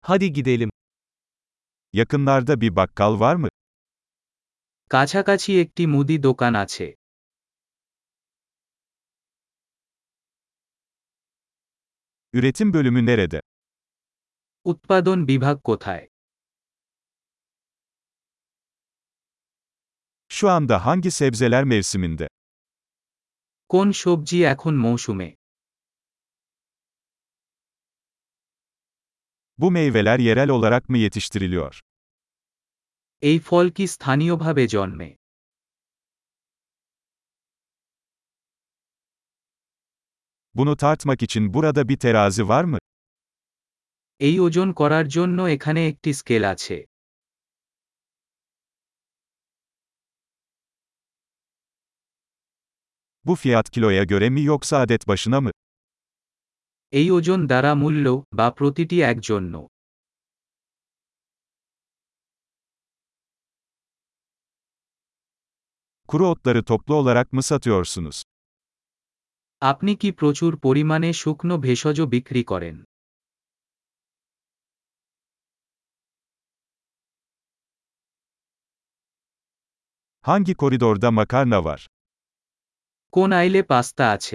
Hadi gidelim. Yakınlarda bir bakkal var mı? কাছাকাছি একটি মুদি দোকান আছে। Üretim bölümü nerede? উৎপাদন বিভাগ কোথায়? Şu anda hangi sebzeler mevsiminde? কোন সবজি এখন মৌসুমে? Bu meyveler yerel olarak mı yetiştiriliyor? এই ফল কি স্থানীয়ভাবে জন্মে? Bunu tartmak için burada bir terazi var mı? এই ওজন করার জন্য এখানে একটি স্কেল আছে। Bu fiyat kiloya göre mi yoksa adet başına mı? এই ওজন দ্বারা মূল্য, বা প্রতিটি এক জন্য? Kuru otları toplu olarak mı satıyorsunuz? আপনি কি প্রচুর পরিমাণে শুকনো ভেষজ বিক্রি করেন? Hangi koridorda makarna var? কোন আইলে পাস্তা আছে?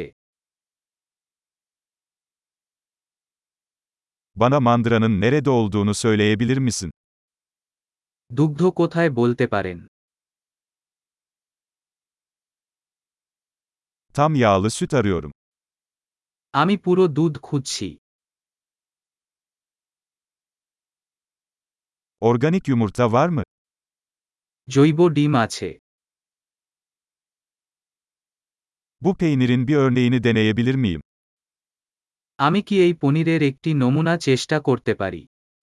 Bana mandıranın nerede olduğunu söyleyebilir misin? দুগ্ধ কোথায় বলতে পারেন? Tam yağlı süt arıyorum. আমি পুরো দুধ খুঁজছি। Organik yumurta var mı? জৈব ডিম আছে। Bu peynirin bir örneğini deneyebilir miyim? আমি কি এই পনিরের একটি নমুনা চেষ্টা করতে পারি?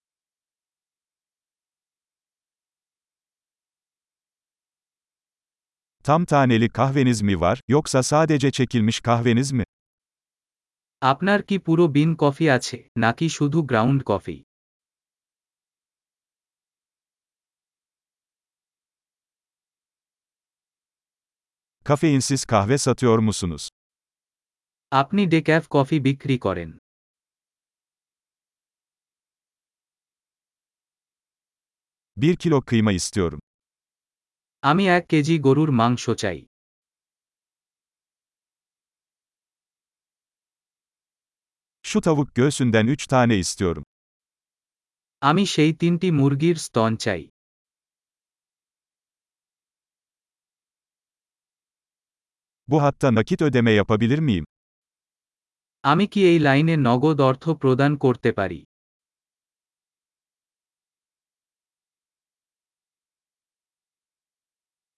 Tam taneli kahveniz mi var, yoksa sadece çekilmiş kahveniz mi? আপনার কি পুরো বিন কফি আছে, নাকি শুধু ground coffee? Kafeinsiz kahve satıyor musunuz? আপনি ডেক্যাফ কফি বিক্রি করেন? 1 kilo kıyma istiyorum. আমি 1 কেজি গরুর মাংস চাই। Şu tavuk göğsünden 3 tane istiyorum. আমি সেই 3টি মুরগির স্তন চাই। Bu hatta nakit ödeme yapabilir miyim? আমি কি এই লাইনে নগদ অর্থ প্রদান করতে পারি?